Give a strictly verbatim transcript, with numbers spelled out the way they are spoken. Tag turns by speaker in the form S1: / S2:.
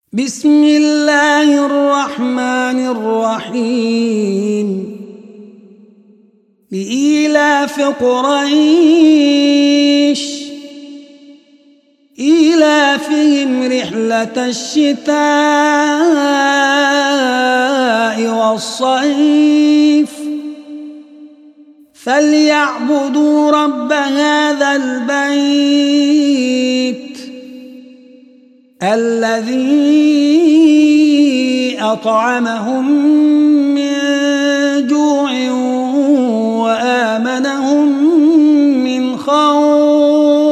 S1: بسم الله الرحمن الرحيم لإيلاف قريش إيلافهم رحلة الشتاء والصيف فليعبدوا رب هذا البيت الذي أطعمهم من جوع وآمنهم من خوف.